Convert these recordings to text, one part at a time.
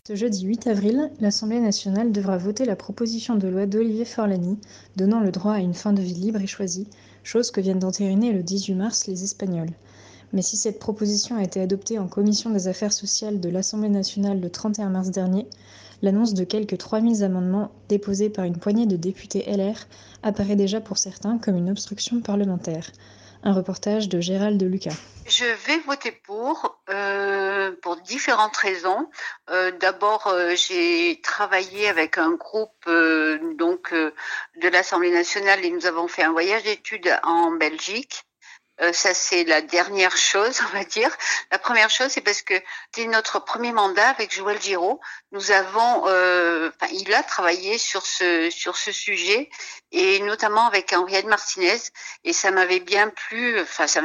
Ce jeudi 8 avril, l'Assemblée nationale devra voter la proposition de loi d'Olivier Forlani donnant le droit à une fin de vie libre et choisie, chose que viennent d'entériner le 18 mars les Espagnols. Mais si cette proposition a été adoptée en commission des affaires sociales de l'Assemblée nationale le 31 mars dernier, l'annonce de quelques 3000 amendements déposés par une poignée de députés LR apparaît déjà pour certains comme une obstruction parlementaire. Un reportage de Gérald Lucas. Je vais voter pour différentes raisons. D'abord, j'ai travaillé avec un groupe de l'Assemblée nationale et nous avons fait un voyage d'études en Belgique. Ça, c'est la dernière chose, on va dire. La première chose, c'est parce que c'est notre premier mandat avec Joël Giraud. Nous avons, il a travaillé sur ce sujet et notamment avec Henriette Martinez. Et ça m'avait bien plu. Ça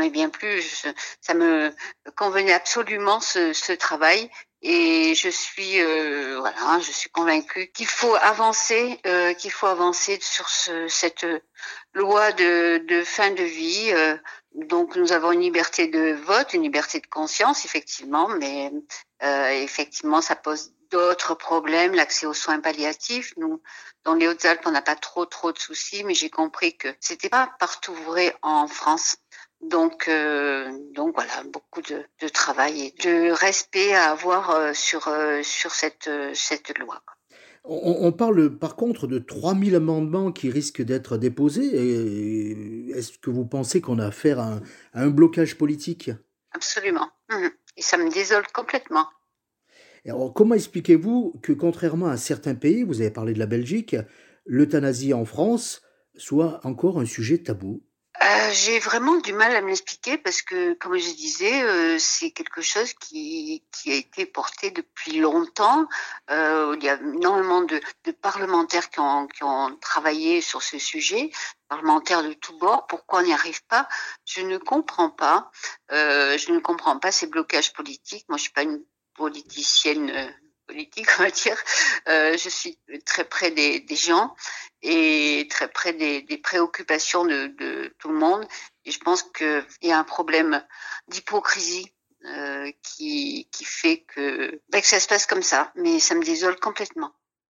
me convenait absolument ce travail. Et je suis convaincue qu'il faut avancer sur cette loi de fin de vie. Donc nous avons une liberté de vote, une liberté de conscience, effectivement, mais effectivement ça pose d'autres problèmes, l'accès aux soins palliatifs. Nous, dans les Hautes-Alpes, on n'a pas trop de soucis, mais j'ai compris que c'était pas partout vrai en France. Donc voilà, beaucoup de travail et de respect à avoir sur cette loi. On parle par contre de 3000 amendements qui risquent d'être déposés. Est-ce que vous pensez qu'on a affaire à un blocage politique ? Absolument. Et ça me désole complètement. Alors, comment expliquez-vous que, contrairement à certains pays, vous avez parlé de la Belgique, l'euthanasie en France soit encore un sujet tabou ? J'ai vraiment du mal à me l'expliquer parce que, comme je disais, c'est quelque chose qui a été porté depuis longtemps. Il y a énormément de parlementaires qui ont travaillé sur ce sujet, parlementaires de tous bords. Pourquoi on n'y arrive pas ? Je ne comprends pas. Je ne comprends pas ces blocages politiques. Moi, je suis pas une politicienne politique, on va dire. Je suis très près des gens et très près des préoccupations de tout le monde. Et je pense qu'il y a un problème d'hypocrisie qui fait que ça se passe comme ça. Mais ça me désole complètement.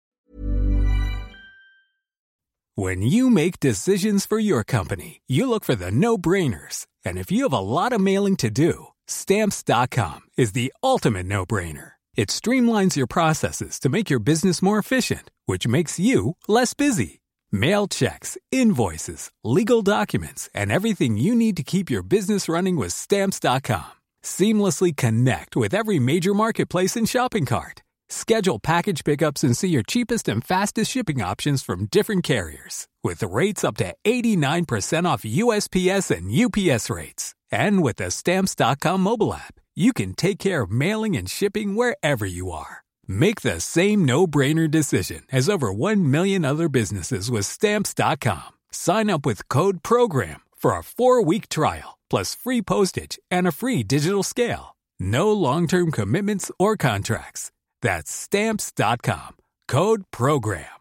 When you make decisions for your company, you look for the no-brainers. And if you have a lot of mailing to do, Stamps.com is the ultimate no-brainer. It streamlines your processes to make your business more efficient, which makes you less busy. Mail checks, invoices, legal documents, and everything you need to keep your business running with Stamps.com. Seamlessly connect with every major marketplace and shopping cart. Schedule package pickups and see your cheapest and fastest shipping options from different carriers, with rates up to 89% off USPS and UPS rates. And with the Stamps.com mobile app, you can take care of mailing and shipping wherever you are. Make the same no-brainer decision as over 1 million other businesses with Stamps.com. Sign up with code PROGRAM for a 4-week trial, plus free postage and a free digital scale. No long-term commitments or contracts. That's Stamps.com. Code PROGRAM.